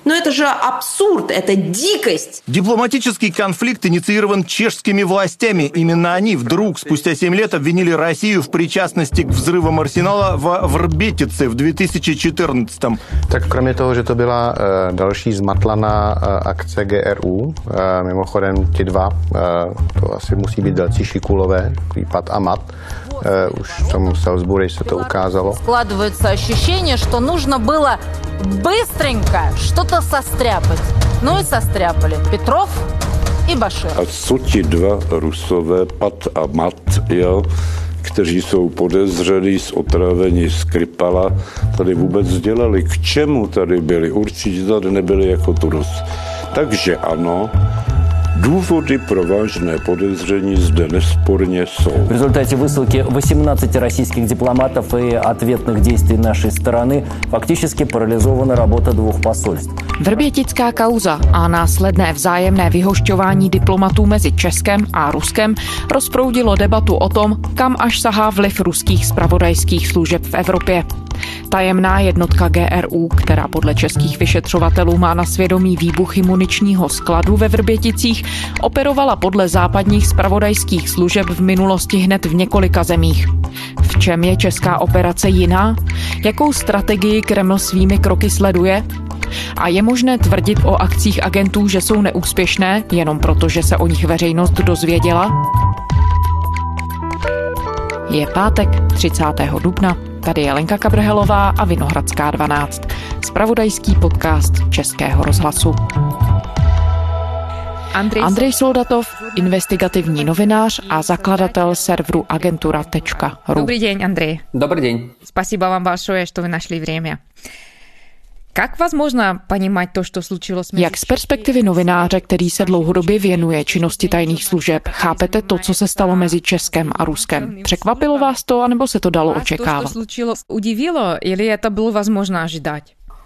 Но это же абсурд, это дикость. Дипломатический конфликт инициирован чешскими властями. Именно они вдруг спустя 7 лет обвинили Россию в причастности к взрывам арсенала во Вrbětici v 2014. Tak kromě toho, že to byla další zmatlaná akce GRU, mimochodem ti dva, to asi musí být velcí šikulové, Pat a Mat, už v tom Salisbury se to ukázalo. Складывается ощущение, что нужно было быстренько что-то состряпать. Ну и состряпали Петров и Башир. A co ti dva Rusové, Pat a Mat, jo, kteří jsou podezřelí z otrávení Skripala, tady vůbec dělali? K čemu tady byli? Určitě tady nebyli jako turist. Takže ano, důvody pro vážné podezření zde nesporně jsou. В результате высылки 18 российских дипломатов и ответных действий нашей стороны фактически парализована работа двух посольств. Vrbětická kauza a následné vzájemné vyhošťování diplomatů mezi Českem a Ruskem rozproudilo debatu o tom, kam až sahá vliv ruských zpravodajských služeb v Evropě. Tajemná jednotka GRU, která podle českých vyšetřovatelů má na svědomí výbuchy muničního skladu ve Vrběticích, operovala podle západních zpravodajských služeb v minulosti hned v několika zemích. V čem je česká operace jiná? Jakou strategii Kreml svými kroky sleduje? A je možné tvrdit o akcích agentů, že jsou neúspěšné, jenom proto, že se o nich veřejnost dozvěděla? Je pátek 30. dubna. Tady je Lenka Kabrhelová a Vinohradská 12. Zpravodajský podcast Českého rozhlasu. Andrej Soldatov, investigativní novinář a zakladatel serveru agentura.ru. Dobrý den, Andrej. Dobrý den. Спасибо вам большое, что вы нашли время. Jak vás možná ponímat to, co slučilo s... Jak z perspektivy novináře, který se dlouhodobě věnuje činnosti tajných služeb, chápete to, co se stalo mezi Českem a Ruskem? Překvapilo vás to, anebo se to dalo očekávat? To, co slučilo, udivilo, ili to bylo возможно ожидать?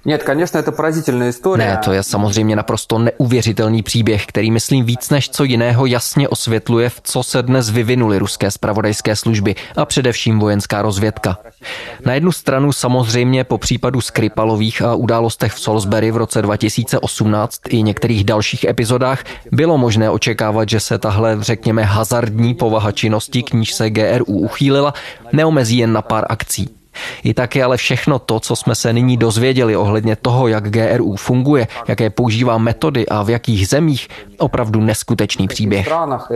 Ne, to je samozřejmě naprosto neuvěřitelný příběh, který myslím víc než co jiného jasně osvětluje, v co se dnes vyvinuly ruské zpravodajské služby a především vojenská rozvědka. Na jednu stranu samozřejmě po případu Skripalových a událostech v Salisbury v roce 2018 i některých dalších epizodách bylo možné očekávat, že se tahle, řekněme, hazardní povaha činnosti, k níž se GRU uchýlila, neomezí jen na pár akcí. I tak je ale všechno to, co jsme se nyní dozvěděli ohledně toho, jak GRU funguje, jaké používá metody a v jakých zemích, opravdu neskutečný příběh.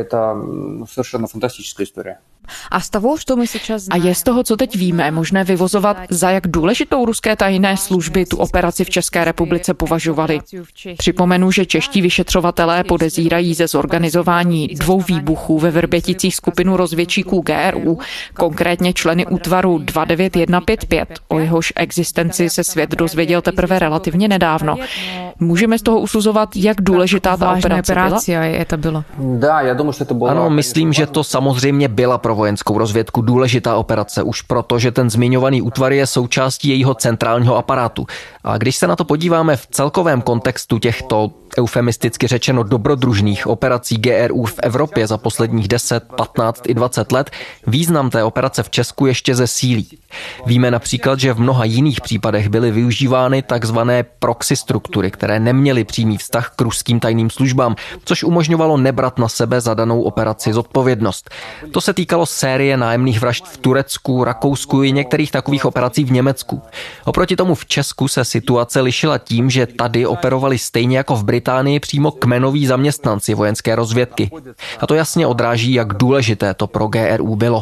A je z toho, co teď víme, možné vyvozovat, za jak důležitou ruské tajné služby tu operaci v České republice považovaly. Připomenu, že čeští vyšetřovatelé podezírají ze zorganizování 2 výbuchů ve Vrběticích skupinu rozvědčíků GRU, konkrétně členy útvaru 29155, o jehož existenci se svět dozvěděl teprve relativně nedávno. Můžeme z toho usuzovat, jak důležitá ta operace byla? Ano, myslím, že to samozřejmě byla pro vojenskou rozvědku důležitá operace, už proto, že ten zmiňovaný útvar je součástí jejího centrálního aparátu. A když se na to podíváme v celkovém kontextu těchto, eufemisticky řečeno, dobrodružných operací GRU v Evropě za posledních 10, 15 i 20 let, význam té operace v Česku ještě zesílí. Víme například, že v mnoha jiných případech byly využívány takzvané proxy struktury, které neměly přímý vztah k ruským tajným službám, což umožňovalo nebrat na sebe za danou operaci zodpovědnost. To se týkalo série nájemných vražd v Turecku, Rakousku i některých takových operací v Německu. Oproti tomu v Česku se situace lišila tím, že tady operovali stejně jako v Británii přímo kmenoví zaměstnanci vojenské rozvědky. A to jasně odráží, jak důležité to pro GRU bylo.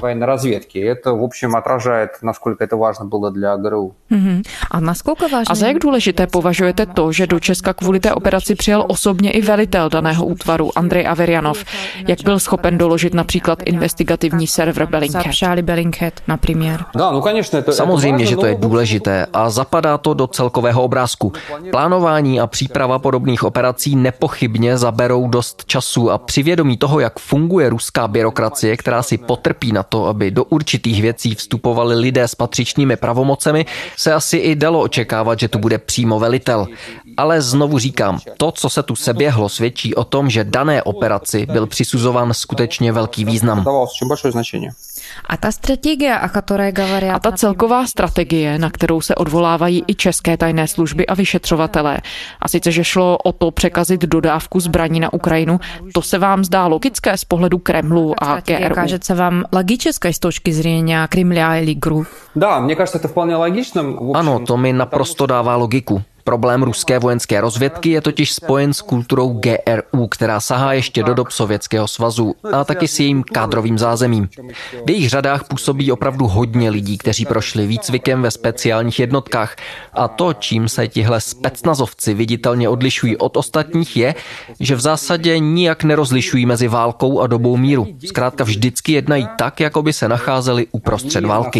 A za jak důležité považujete to, že do Česka kvůli té operaci přijel osobně i velitel daného útvaru Andrej Averjanov, jak byl schopen doložit například investigativní server Bellingcat, například? Samozřejmě, že to je důležité a zapadá to do celkového obrázku. Plánování a příprava podobných operací nepochybně zaberou dost času a při vědomí toho, jak funguje ruská byrokracie, která si potrpí na to, aby do určitých věcí vstupovali lidé s patřičnými pravomocemi, se asi i dalo očekávat, že tu bude přímo velitel. Ale znovu říkám, to, co se tu seběhlo, svědčí o tom, že dané operaci byl přisuzován skutečně velký význam. A ta strategie, o které говорят... A ta celková strategie, na kterou se odvolávají i české tajné služby a vyšetřovatelé, a sice, že šlo o to překazit dodávku zbraní na Ukrajinu, to se vám zdá logické z pohledu Kremlu a GRU? Кажется vám logické z точки зрения Кремля или ГРУ? Да, мне кажется, это вполне логично. Ano, to mi naprosto dává logiku. Problém ruské vojenské rozvědky je totiž spojen s kulturou GRU, která sahá ještě do dob Sovětského svazu a taky s jejím kádrovým zázemím. V jejich řadách působí opravdu hodně lidí, kteří prošli výcvikem ve speciálních jednotkách. A to, čím se tihle specnazovci viditelně odlišují od ostatních, je, že v zásadě nijak nerozlišují mezi válkou a dobou míru. Zkrátka vždycky jednají tak, jako by se nacházeli uprostřed války.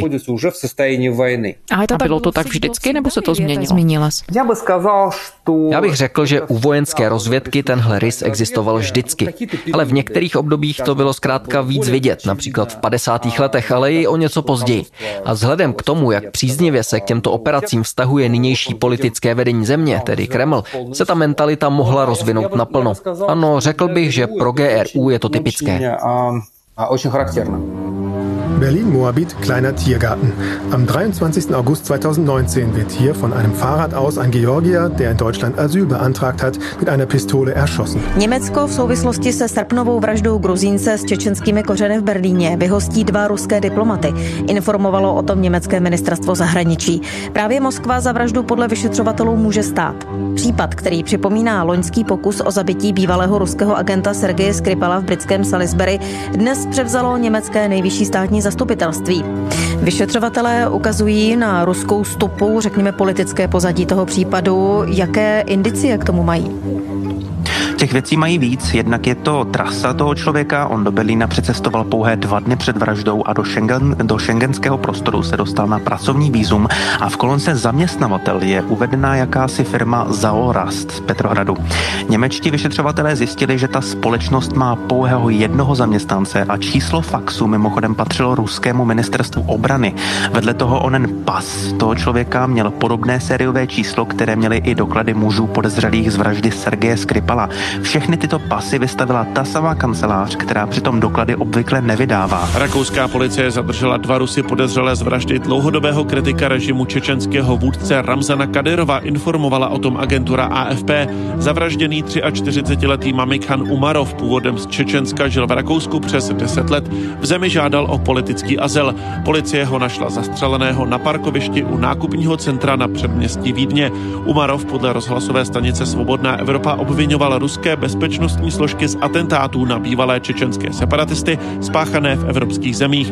A bylo to tak vždycky, nebo se to změnilo? Já bych řekl, že u vojenské rozvědky tenhle rys existoval vždycky. Ale v některých obdobích to bylo zkrátka víc vidět, například v 50. letech, ale i o něco později. A vzhledem k tomu, jak příznivě se k těmto operacím vztahuje nynější politické vedení země, tedy Kreml, se ta mentalita mohla rozvinout naplno. Ano, řekl bych, že pro GRU je to typické. Berlin-Moabit, kleiner Tiergarten. Am 23. August 2019 wird hier von einem Fahrrad aus ein Georgier, der in Deutschland Asyl beantragt hat, mit einer Pistole erschossen. Německo v souvislosti se srpnovou vraždou Gruzínce s čečenskými kořeny v Berlíně vyhostí 2 ruské diplomaty. Informovalo o tom německé ministerstvo zahraničí. Právě Moskva za vraždu podle vyšetřovatelů může stát. Případ, který připomíná loňský pokus o zabití bývalého ruského agenta Sergeje Skripala v britském Salisbury, dnes převzalo německé nejvyšší státní zastupitelství. Vyšetřovatelé ukazují na ruskou stopu, řekněme politické pozadí toho případu. Jaké indicie k tomu mají? Těch věcí mají víc, jednak je to trasa toho člověka, on do Berlína přecestoval pouhé 2 dny před vraždou a do šengenského prostoru se dostal na pracovní vízum a v kolonce zaměstnavatel je uvedená jakási firma Zaorast z Petrohradu. Němečtí vyšetřovatelé zjistili, že ta společnost má pouhého 1 zaměstnance a číslo faxu mimochodem patřilo ruskému ministerstvu obrany. Vedle toho onen pas toho člověka měl podobné sériové číslo, které měly i doklady mužů podezřelých z vraždy Sergeje Skripala. Všechny tyto pasy vystavila ta samá kancelář, která přitom doklady obvykle nevydává. Rakouská policie zadržela 2 Rusy podezřelé z vraždy dlouhodobého kritika režimu čečenského vůdce Ramzana Kadyrova, informovala o tom agentura AFP. Zavražděný 43letý Mamikhan Umarov, původem z Čečenska, žil v Rakousku přes 10 let. V zemi žádal o politický azyl. Policie ho našla zastřeleného na parkovišti u nákupního centra na předměstí Vídně. Umarov podle rozhlasové stanice Svobodná Evropa obvinoval ruské bezpečnostní složky z atentátů na bývalé čečenské separatisty spáchané v evropských zemích.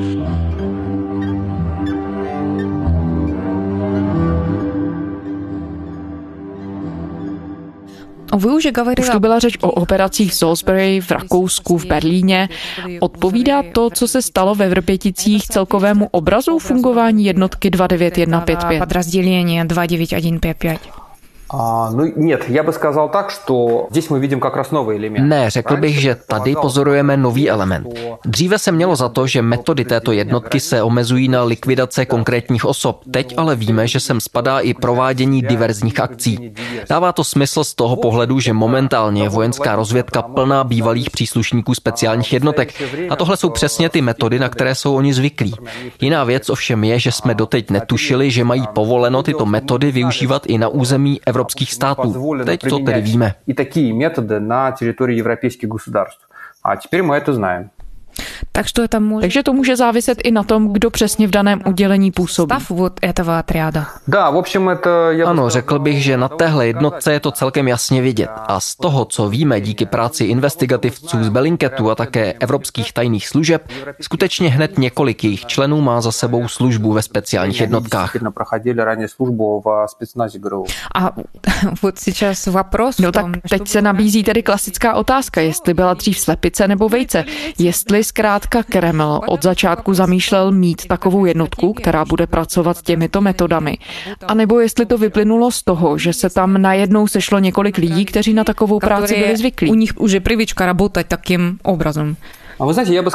Už tu byla řeč o operacích v Salisbury, v Rakousku, v Berlíně. Odpovídá to, co se stalo ve Vrběticích, celkovému obrazu fungování jednotky 29155? Подразделение 29155. Ne, řekl bych, že tady pozorujeme nový element. Dříve se mělo za to, že metody této jednotky se omezují na likvidace konkrétních osob. Teď ale víme, že sem spadá i provádění diverzních akcí. Dává to smysl z toho pohledu, že momentálně je vojenská rozvědka plná bývalých příslušníků speciálních jednotek. A tohle jsou přesně ty metody, na které jsou oni zvyklí. Jiná věc ovšem je, že jsme doteď netušili, že mají povoleno tyto metody využívat i na území evropských států. Teď to tedy víme. I taky metody na teritorii evropských государств. A теперь мы это знаем. Takže to může záviset i na tom, kdo přesně v daném udělení působí. Ano, řekl bych, že na téhle jednotce je to celkem jasně vidět. A z toho, co víme díky práci investigativců z Bellingcatu a také evropských tajných služeb, skutečně hned několik jejich členů má za sebou službu ve speciálních jednotkách. A tak teď se nabízí tedy klasická otázka, jestli byla dřív slepice nebo vejce. Jestli zkrátka Kreml od začátku zamýšlel mít takovou jednotku, která bude pracovat těmito metodami. A nebo jestli to vyplynulo z toho, že se tam najednou sešlo několik lidí, kteří na takovou práci byli zvyklí. U nich už je привычка работать таким образом.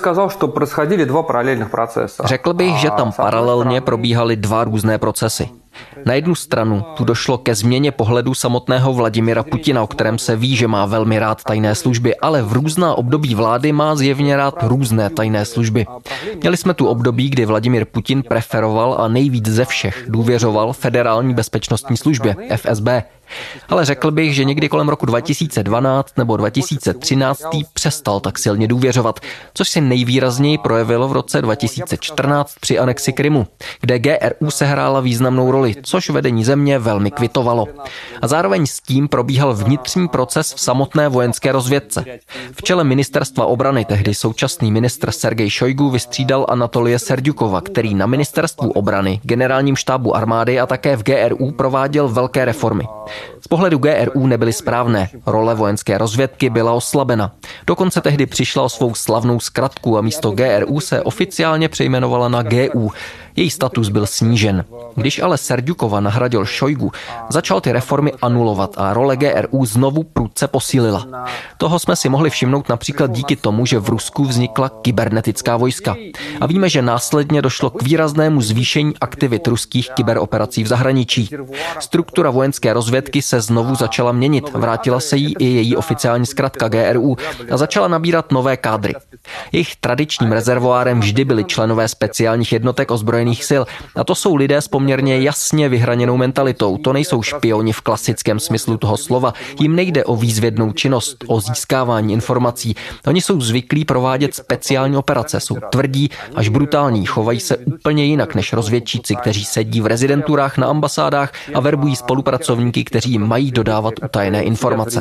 Řekl bych, že tam paralelně probíhaly 2 různé procesy. Na jednu stranu tu došlo ke změně pohledu samotného Vladimira Putina, o kterém se ví, že má velmi rád tajné služby, ale v různá období vlády má zjevně rád různé tajné služby. Měli jsme tu období, kdy Vladimir Putin preferoval a nejvíc ze všech důvěřoval Federální bezpečnostní službě, FSB. Ale řekl bych, že někdy kolem roku 2012 nebo 2013 přestal tak silně důvěřovat, což si nejvýrazněji projevilo v roce 2014 při anexi Krymu, kde GRU sehrála významnou roli, což vedení země velmi kvitovalo. A zároveň s tím probíhal vnitřní proces v samotné vojenské rozvědce. V čele ministerstva obrany tehdy současný ministr Sergej Šojgu vystřídal Anatolije Serďukova, který na ministerstvu obrany, generálním štábu armády a také v GRU prováděl velké reformy. Z pohledu GRU nebyly správné, role vojenské rozvědky byla oslabena. Dokonce tehdy přišla o svou slavnou zkratku a místo GRU se oficiálně přejmenovala na GU. Její status byl snížen. Když ale Serďukova nahradil Šojgu, začal ty reformy anulovat a role GRU znovu prudce posílila. Toho jsme si mohli všimnout například díky tomu, že v Rusku vznikla kybernetická vojska. A víme, že následně došlo k výraznému zvýšení aktivit ruských kyberoperací v zahraničí. Struktura vojenské rozvědky se znovu začala měnit, vrátila se jí i její oficiální zkratka GRU a začala nabírat nové kádry. Jejich tradičním rezervoárem vždy byli členové speciálních jednotek ozbrojených sil a to jsou lidé s poměrně jasně vyhraněnou mentalitou. To nejsou špioni v klasickém smyslu toho slova. Jim nejde o výzvědnou činnost, o získávání informací. Oni jsou zvyklí provádět speciální operace, jsou tvrdí až brutální, chovají se úplně jinak než rozvědčíci, kteří sedí v rezidenturách na ambasádách a verbují spolupracovníky, kteří jim mají dodávat utajené informace.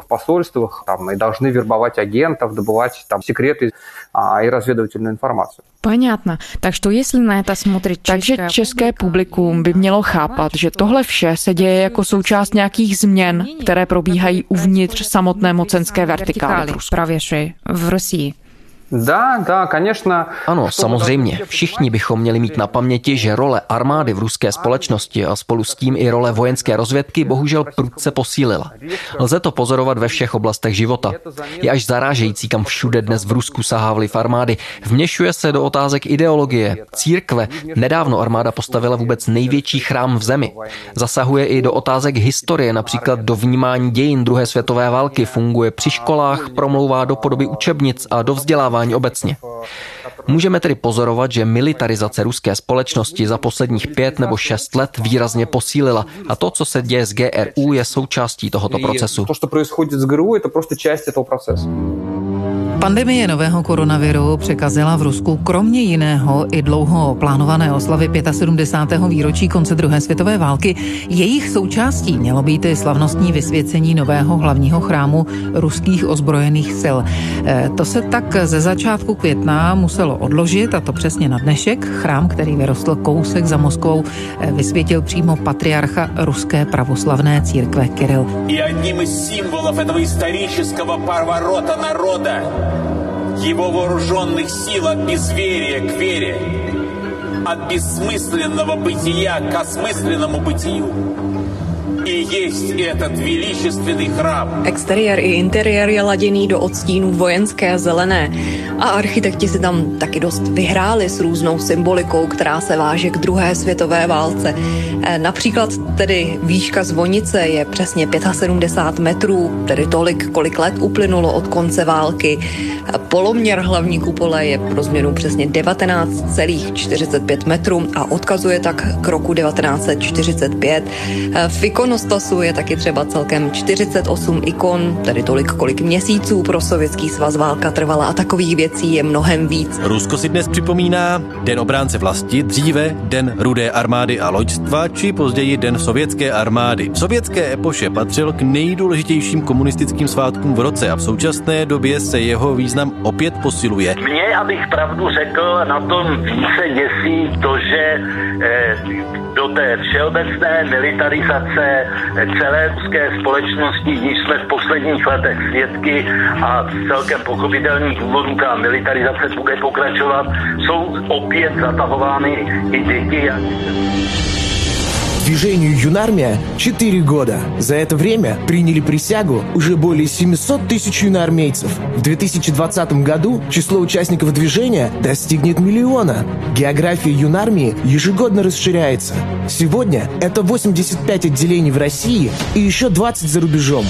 И разведывательную информацию. Понятно. Так что если на это смотрит Takže české publikum by mělo chápat, že tohle vše se děje jako součást nějakých změn, které probíhají uvnitř samotné mocenské vertikály v Rusii. Ano, samozřejmě. Všichni bychom měli mít na paměti, že role armády v ruské společnosti a spolu s tím i role vojenské rozvědky bohužel prudce posílila. Lze to pozorovat ve všech oblastech života. Je až zarážející, kam všude dnes v Rusku sahá vliv armády. Vměšuje se do otázek ideologie, církve. Nedávno armáda postavila vůbec největší chrám v zemi. Zasahuje i do otázek historie, například do vnímání dějin druhé světové války, funguje při školách, promlouvá do podoby učebnic a do vzdělávání obecně. Můžeme tedy pozorovat, že militarizace ruské společnosti za posledních 5 nebo 6 let výrazně posílila a to, co se děje s GRU, je součástí tohoto procesu. To, co происходит с ГРУ, это просто часть этого процесса. Pandemie nového koronaviru překazila v Rusku kromě jiného i dlouho plánované oslavy 75. výročí konce druhé světové války. Jejich součástí mělo být i slavnostní vysvěcení nového hlavního chrámu ruských ozbrojených sil. To se tak ze začátku května muselo odložit, a to přesně na dnešek. Chrám, který vyrostl kousek za Moskvou, vysvětil přímo patriarcha ruské pravoslavné církve Kiril. Jedním z symbolů этого исторического поворота народа его вооруженных сил от безверия к вере, от бессмысленного бытия к осмысленному бытию. I jest этот величественный chrám. Exteriér i interiér je laděný do odstínů vojenské zelené a architekti si tam taky dost vyhráli s různou symbolikou, která se váže k druhé světové válce. Například tedy výška zvonice je přesně 75 metrů, tedy tolik, kolik let uplynulo od konce války. Poloměr hlavní kupole je pro změnu přesně 19,45 metrů a odkazuje tak k roku 1945. V ikonostasu je taky třeba celkem 48 ikon, tedy tolik, kolik měsíců pro Sovětský svaz válka trvala a takových věcí je mnohem víc. Rusko si dnes připomíná Den obránce vlasti, dříve Den Rudé armády a loďstva, či později Den sovětské armády. V sovětské epoše patřil k nejdůležitějším komunistickým svátkům v roce a v současné době se jeho význam opět posiluje. Mně, abych pravdu řekl, na tom více děsí to, že do té všeobecné militarizace celé ruské společnosti, když jsme v posledních letech svědky a z celkem pochopitelných důvodů ta militarizace bude pokračovat, jsou opět zatahovány i děti. Движению «Юнармия» 4 года. За это время приняли присягу уже более 700 тысяч юноармейцев. В 2020 году число участников движения достигнет 1 миллиона. География юнармии ежегодно расширяется. Сегодня это 85 отделений в России и еще 20 за рубежом.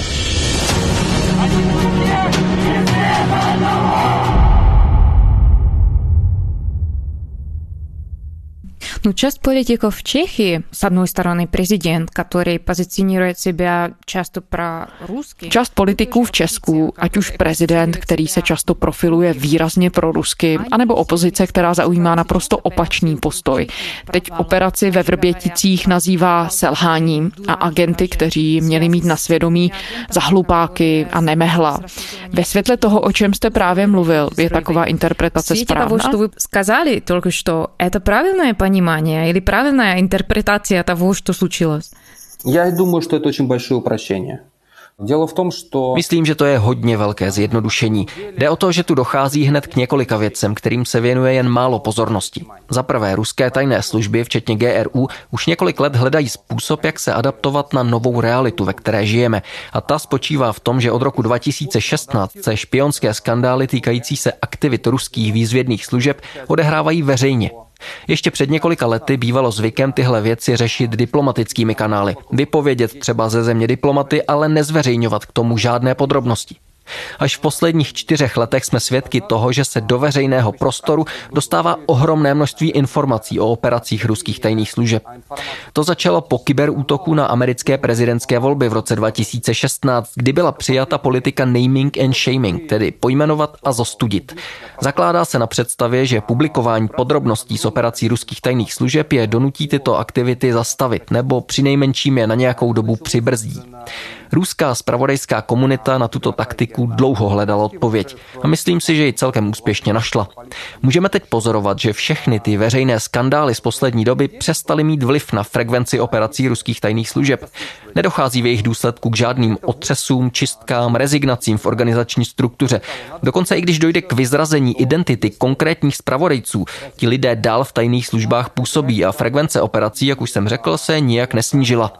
Ну, часть политиков в Чехии, с одной стороны, президент, который позиционирует себя často pro-rusky. Část politiků v Česku, ať už prezident, který se často profiluje výrazně prorusky, anebo opozice, která zaujímá naprosto opačný postoj. Teď operaci ve Vrběticích nazývá selháním a agenty, kteří měli mít na svědomí za hlupáky a nemehla. Ve světle toho, o čem jste právě mluvil, je taková interpretace správná? Того, что вы сказали только что, это правильное понимание или правильная интерпретация того, что случилось? Я думаю, что это очень большое упрощение. Dělo v tom, že... Myslím, že to je hodně velké zjednodušení. Jde o to, že tu dochází hned k několika věcem, kterým se věnuje jen málo pozornosti. Za prvé, ruské tajné služby, včetně GRU, už několik let hledají způsob, jak se adaptovat na novou realitu, ve které žijeme. A ta spočívá v tom, že od roku 2016 se špionské skandály týkající se aktivit ruských výzvědných služeb odehrávají veřejně. Ještě před několika lety bývalo zvykem tyhle věci řešit diplomatickými kanály. Vypovědět třeba ze země diplomaty, ale nezveřejňovat k tomu žádné podrobnosti. Až v posledních 4 letech jsme svědky toho, že se do veřejného prostoru dostává ohromné množství informací o operacích ruských tajných služeb. To začalo po kyberútoku na americké prezidentské volby v roce 2016, kdy byla přijata politika naming and shaming, tedy pojmenovat a zostudit. Zakládá se na představě, že publikování podrobností z operací ruských tajných služeb je donutí tyto aktivity zastavit nebo přinejmenším je na nějakou dobu přibrzdí. Ruská zpravodajská komunita na tuto taktiku dlouho hledala odpověď a myslím si, že ji celkem úspěšně našla. Můžeme teď pozorovat, že všechny ty veřejné skandály z poslední doby přestaly mít vliv na frekvenci operací ruských tajných služeb. Nedochází v jejich důsledku k žádným otřesům, čistkám, rezignacím v organizační struktuře. Dokonce i když dojde k vyzrazení identity konkrétních zpravodajců, ti lidé dál v tajných službách působí a frekvence operací, jak už jsem řekl, se nijak nesnížila.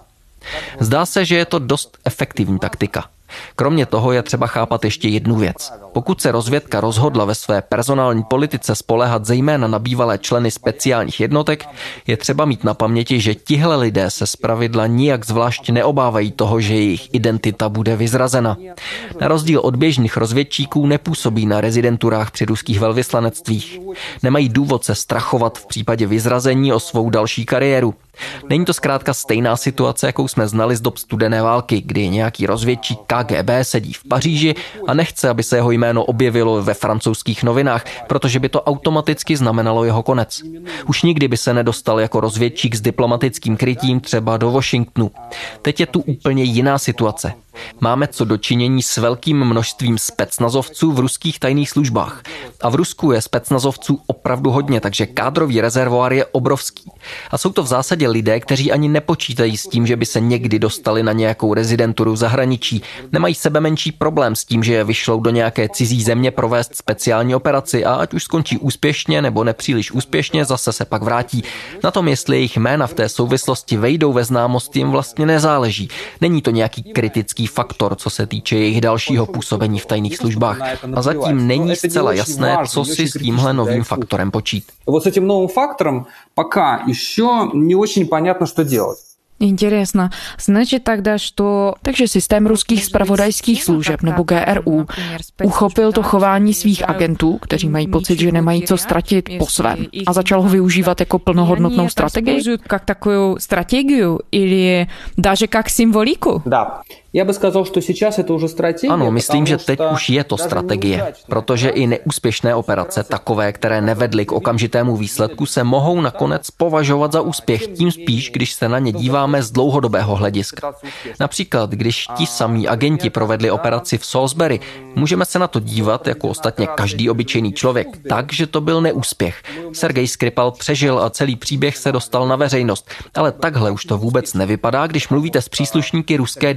Zdá se, že je to dost efektivní taktika. Kromě toho je třeba chápat ještě jednu věc. Pokud se rozvědka rozhodla ve své personální politice spoléhat zejména na bývalé členy speciálních jednotek, je třeba mít na paměti, že tihle lidé se zpravidla nijak zvlášť neobávají toho, že jejich identita bude vyzrazena. Na rozdíl od běžných rozvědčíků nepůsobí na rezidenturách při ruských velvyslanectvích. Nemají důvod se strachovat v případě vyzrazení o svou další kariéru. Není to zkrátka stejná situace, jakou jsme znali z dob studené války, kdy nějaký rozvědčík KGB sedí v Paříži a nechce, aby se jeho jméno objevilo ve francouzských novinách, protože by to automaticky znamenalo jeho konec. Už nikdy by se nedostal jako rozvědčík s diplomatickým krytím třeba do Washingtonu. Teď je tu úplně jiná situace. Máme co dočinění s velkým množstvím specnazovců v ruských tajných službách. A v Rusku je specnazovců opravdu hodně, takže kádrový rezervoár je obrovský. A jsou to v zásadě lidé, kteří ani nepočítají s tím, že by se někdy dostali na nějakou rezidenturu v zahraničí. Nemají sebemenší problém s tím, že je vyšlou do nějaké cizí země provést speciální operaci a ať už skončí úspěšně nebo nepříliš úspěšně, zase se pak vrátí. Na tom, jestli jejich jména v té souvislosti vejdou ve známost, jim vlastně nezáleží. Není to nějaký kritický faktor, co se týče jejich dalšího působení v tajných službách. A zatím není zcela jasné, co si s tímhle novým faktorem počít. Вот с этим новым фактором пока еще не очень понятно, что делать. Интересно. Значит тогда, что... Takže systém ruských zpravodajských služeb nebo GRU uchopil to chování svých agentů, kteří mají pocit, že nemají co ztratit po svém a začal ho využívat jako plnohodnotnou strategii? Как такую стратегию или даже как символику? Да. Já bych сказал, že сейчас это уже strategie. Ano, myslím, že teď už je to strategie, protože i neúspěšné operace, takové, které nevedly k okamžitému výsledku, se mohou nakonec považovat za úspěch, tím spíš, když se na ně díváme z dlouhodobého hlediska. Například, když ti samí agenti provedli operaci v Salisbury, můžeme se na to dívat, jako ostatně každý obyčejný člověk, tak, že to byl neúspěch. Sergej Skripal přežil a celý příběh se dostal na veřejnost, ale takhle už to vůbec nevypadá, když mluvíte s příslušníky ruské diaspory,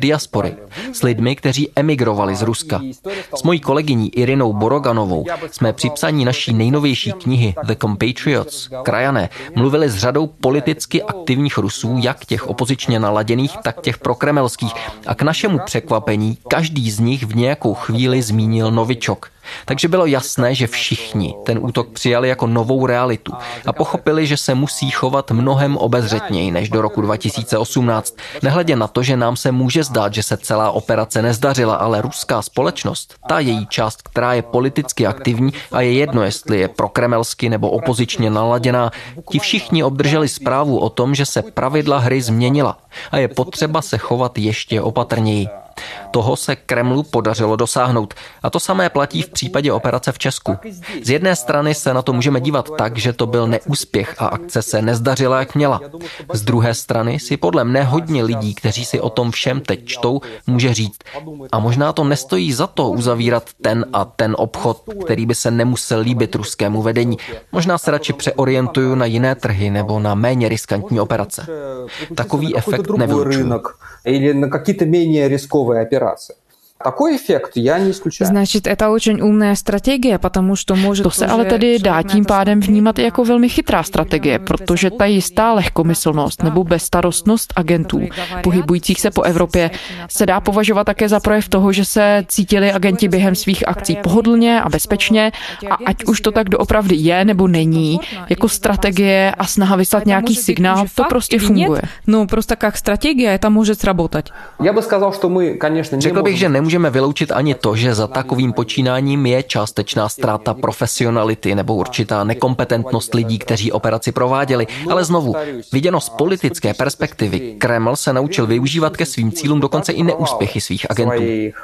rozhovory s lidmi, kteří emigrovali z Ruska. S mojí kolegyní Irinou Boroganovou jsme při psaní naší nejnovější knihy The Compatriots, Krajané, mluvili s řadou politicky aktivních Rusů, jak těch opozičně naladěných, tak těch prokremelských. A k našemu překvapení každý z nich v nějakou chvíli zmínil novičok. Takže bylo jasné, že všichni ten útok přijali jako novou realitu a pochopili, že se musí chovat mnohem obezřetněji než do roku 2018. Nehledě na to, že nám se může zdát, že se celá operace nezdařila, ale ruská společnost, ta její část, která je politicky aktivní a je jedno, jestli je prokremelsky nebo opozičně naladěná, ti všichni obdrželi zprávu o tom, že se pravidla hry změnila a je potřeba se chovat ještě opatrněji. Toho se Kremlu podařilo dosáhnout. A to samé platí v případě operace v Česku. Z jedné strany se na to můžeme dívat tak, že to byl neúspěch a akce se nezdařila, jak měla. Z druhé strany si podle mne hodně lidí, kteří si o tom všem teď čtou, může říct. A možná to nestojí za to uzavírat ten a ten obchod, který by se nemusel líbit ruskému vedení. Možná se radši přeorientuju na jiné trhy nebo na méně riskantní operace. Takový efekt nevylučuju. Или на какие-то менее рисковые операции. Такой эффект я не исключаю. Значит, это очень умная стратегия, потому что может... To se ale tedy dá tím pádem vnímat jako velmi chytrá strategie, protože ta jistá lehkomyslnost nebo bezstarostnost agentů pohybujících se po Evropě se dá považovat také za projev toho, že se cítili agenti během svých akcí pohodlně a bezpečně a ať už to tak doopravdy je nebo není, jako strategie a snaha vyslat nějaký signál, to prostě funguje. No, prostě jak strategie, to může sработать. Já bych сказал, что мы, конечно, Řekl bych, že nemůžeme vyloučit ani to, že za takovým počínáním je částečná ztráta profesionality nebo určitá nekompetentnost lidí, kteří operaci prováděli. Ale znovu, viděno z politické perspektivy, Kreml se naučil využívat ke svým cílům dokonce i neúspěchy svých agentů.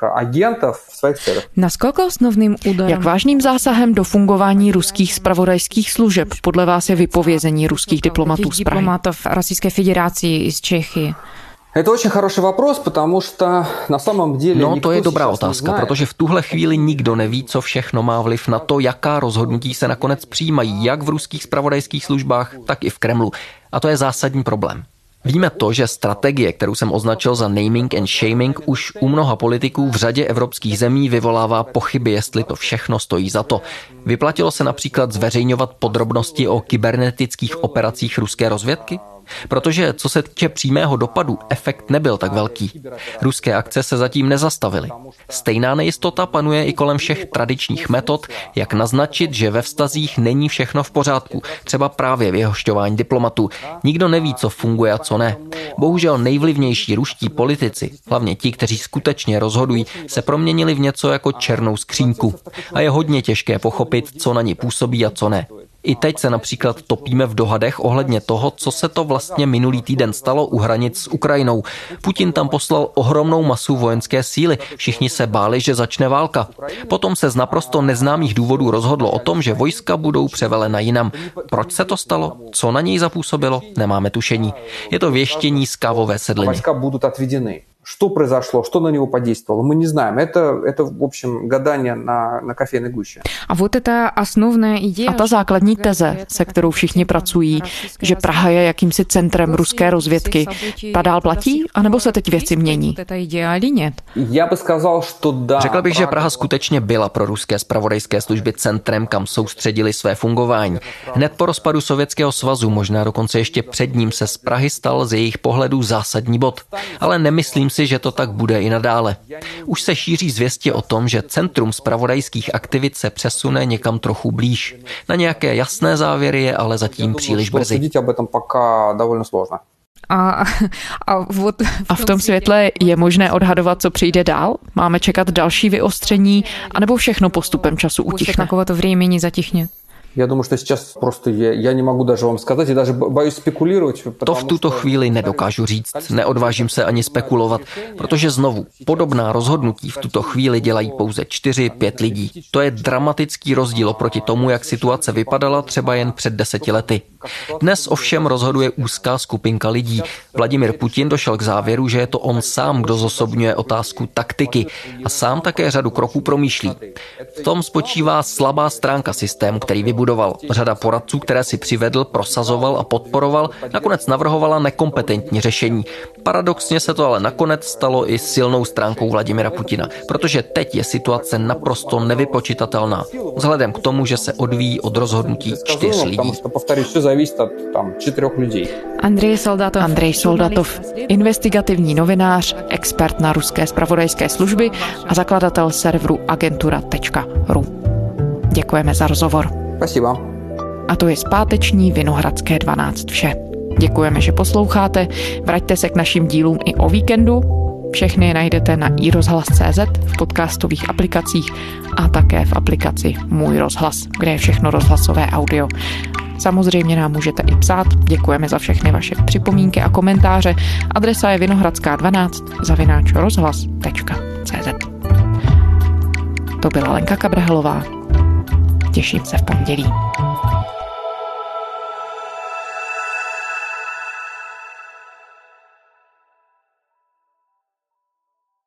Naskoliko osnovným úderem? Jak vážným zásahem do fungování ruských zpravodajských služeb podle vás je vypovězení ruských diplomatů z Prahy? Российской Федерации из Чехии. Это очень хороший вопрос, потому что на самом деле... No, to je dobrá otázka, protože v tuhle chvíli nikdo neví, co všechno má vliv na to, jaká rozhodnutí se nakonec přijímají, jak v ruských zpravodajských službách, tak i v Kremlu. A to je zásadní problém. Víme to, že strategie, kterou jsem označil za naming and shaming, už u mnoha politiků v řadě evropských zemí vyvolává pochyby, jestli to všechno stojí za to. Vyplatilo se například zveřejňovat podrobnosti o kybernetických operacích ruské rozvědky? Protože co se týče přímého dopadu, efekt nebyl tak velký. Ruské akce se zatím nezastavily. Stejná nejistota panuje i kolem všech tradičních metod, jak naznačit, že ve vztazích není všechno v pořádku, třeba právě vyhošťování diplomatů. Nikdo neví, co funguje a co ne. Bohužel nejvlivnější ruští politici, hlavně ti, kteří skutečně rozhodují, se proměnili v něco jako černou skřínku. A je hodně těžké pochopit, co na ně působí a co ne. I teď se například topíme v dohadech ohledně toho, co se to vlastně minulý týden stalo u hranic s Ukrajinou. Putin tam poslal ohromnou masu vojenské síly. Všichni se báli, že začne válka. Potom se z naprosto neznámých důvodů rozhodlo o tom, že vojska budou převelena jinam. Proč se to stalo? Co na něj zapůsobilo? Nemáme tušení. Je to věštění z kávové sedliny. Войска будут отведены. Что произошло, что на него подействовало, мы не знаем. Это в общем, гадание на кофейной гуще. A вот эта основная идея... A ta základní teze, se kterou všichni pracují, že Praha je jakýmsi centrem ruské rozvědky, ta dál platí, anebo se teď věci mění? Já bych сказал, что да. Řekl bych, že Praha skutečně byla pro ruské zpravodajské služby centrem, kam soustředili své fungování. Hned po rozpadu Sovětského svazu, možná dokonce ještě před ním, se z Prahy stal z jejich pohledu zásadní bod. Ale nemyslím si, že to tak bude i nadále. Už se šíří zvěsti o tom, že centrum zpravodajských aktivit se přesune někam trochu blíž. Na nějaké jasné závěry je ale zatím příliš brzy. A v tom světle je možné odhadovat, co přijde dál? Máme čekat další vyostření, anebo všechno postupem času utichne? Já думаю, что сейчас просто я не могу даже вам сказать, я даже боюсь спекулировать. To v tuto chvíli nedokážu říct, neodvážím se ani spekulovat, protože znovu, podobná rozhodnutí v tuto chvíli dělají pouze 4-5 lidí. To je dramatický rozdíl oproti tomu, jak situace vypadala třeba jen před 10 lety. Dnes ovšem rozhoduje úzká skupinka lidí. Vladimir Putin došel k závěru, že je to on sám, kdo zosobňuje otázku taktiky a sám také řadu kroků promýšlí. V tom spočívá slabá stránka systému, který vybudoval vybudoval. Řada poradců, které si přivedl, prosazoval a podporoval, nakonec navrhovala nekompetentní řešení. Paradoxně se to ale nakonec stalo i silnou stránkou Vladimira Putina, protože teď je situace naprosto nevypočitatelná. Vzhledem k tomu, že se odvíjí od rozhodnutí 4 lidí. Andrej Soldatov, investigativní novinář, expert na ruské zpravodajské služby a zakladatel serveru agentura.ru. Děkujeme za rozhovor. Спасибо. A to je z páteční Vinohradské 12 vše. Děkujeme, že posloucháte. Vraťte se k našim dílům i o víkendu. Všechny je najdete na iRozhlas.cz, v podcastových aplikacích a také v aplikaci Můj rozhlas, kde je všechno rozhlasové audio. Samozřejmě nám můžete i psát. Děkujeme za všechny vaše připomínky a komentáře. Adresa je vinohradská12@rozhlas.cz. To byla Lenka Kabrhelová. Těším se v pondělí.